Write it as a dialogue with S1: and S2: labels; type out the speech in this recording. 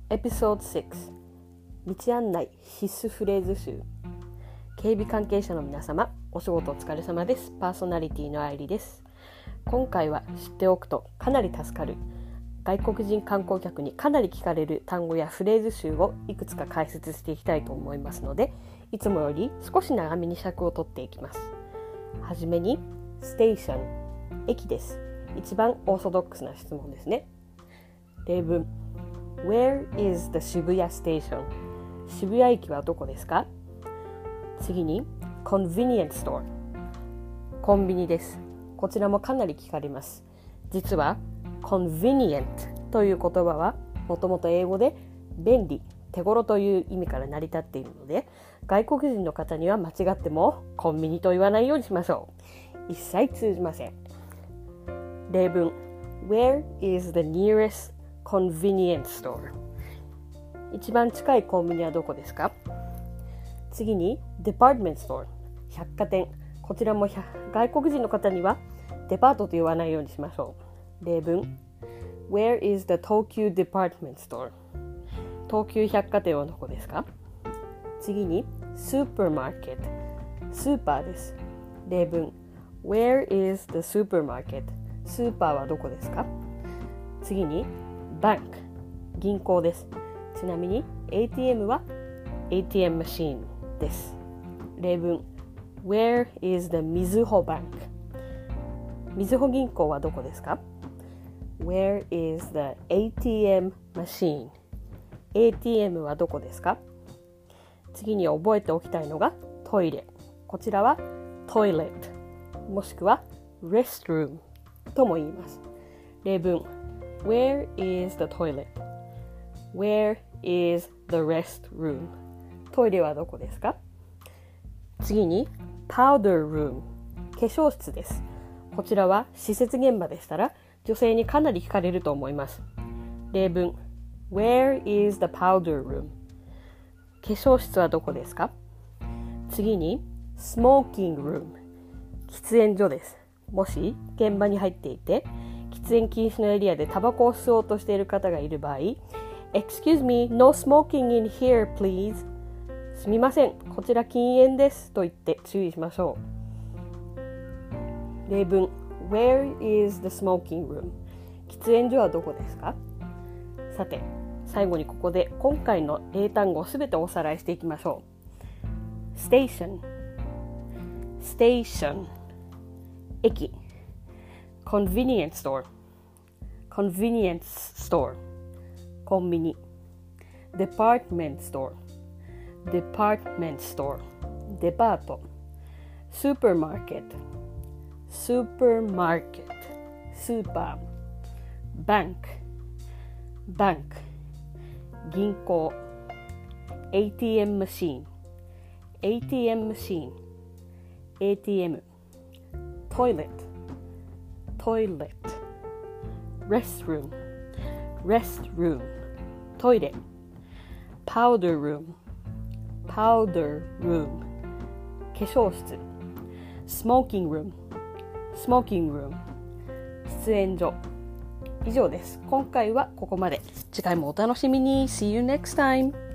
S1: エピソード6道案内必須フレーズ集。警備関係者の皆様、お仕事お疲れ様です。パーソナリティの愛理です。今回は知っておくとかなり助かる外国人観光客にかなり聞かれる単語やフレーズ集をいくつか解説していきたいと思いますので、いつもより少し長めに尺を取っていきます。はじめにステーション、駅です。一番オーソドックスな質問ですね。例文 Where is the 渋谷 station? 渋谷駅はどこですか？次に Convenience store、 コンビニです。こちらもかなり聞かれます。実は Convenient という言葉はもともと英語で便利、手頃という意味から成り立っているので、外国人の方には間違ってもコンビニと言わないようにしましょう。一切通じません。例文 Where is the nearest convenience store? 一番近いコンビニはどこですか？次に Department store、 百貨店。こちらも外国人の方にはデパートと言わないようにしましょう。例文 Where is the 東急 department store? 東急百貨店はどこですか？次に Supermarket、 スーパーです。例文 Where is the supermarket? スーパーはどこですか？次に Bank、 銀行です。ちなみに ATM は ATM マシーンです。例文 Where is the みずほ Bank? みずほ銀行はどこですか？ Where is the ATM machine? ATM はどこですか？次に覚えておきたいのがトイレ。こちらはトイレットもしくは restroom とも言います。例文 Where is the toilet? Where is the restroom? トイレはどこですか？次に powder room、 化粧室です。こちらは施設現場でしたら女性にかなり聞かれると思います。例文 Where is the powder room? 化粧室はどこですか？次に smoking room、 喫煙所です。もし現場に入っていて喫煙禁止のエリアでタバコを吸おうとしている方がいる場合、 Excuse me, no smoking in here please、 すみません、こちら禁煙ですと言って注意しましょう。例文 Where is the smoking room? 喫煙所はどこですか？さて最後にここで今回の英単語をすべておさらいしていきましょう。ステーション、ステーション、駅。Convenience store、 Convenience store、 コンビニ。Department store、 Department store、 デパート。Supermarket、 Supermarket、 スーパー。Bank、 Bank、 銀行。ATM マシーン、 ATM マシーン、 ATM。Toilet、 Toilet、 Restroom、 Restroom、 トイレ。Powder room、 Powder room、 化粧室。Smoking room、 Smoking room、 喫煙所。以上です。今回はここまで。次回もお楽しみに。See you next time!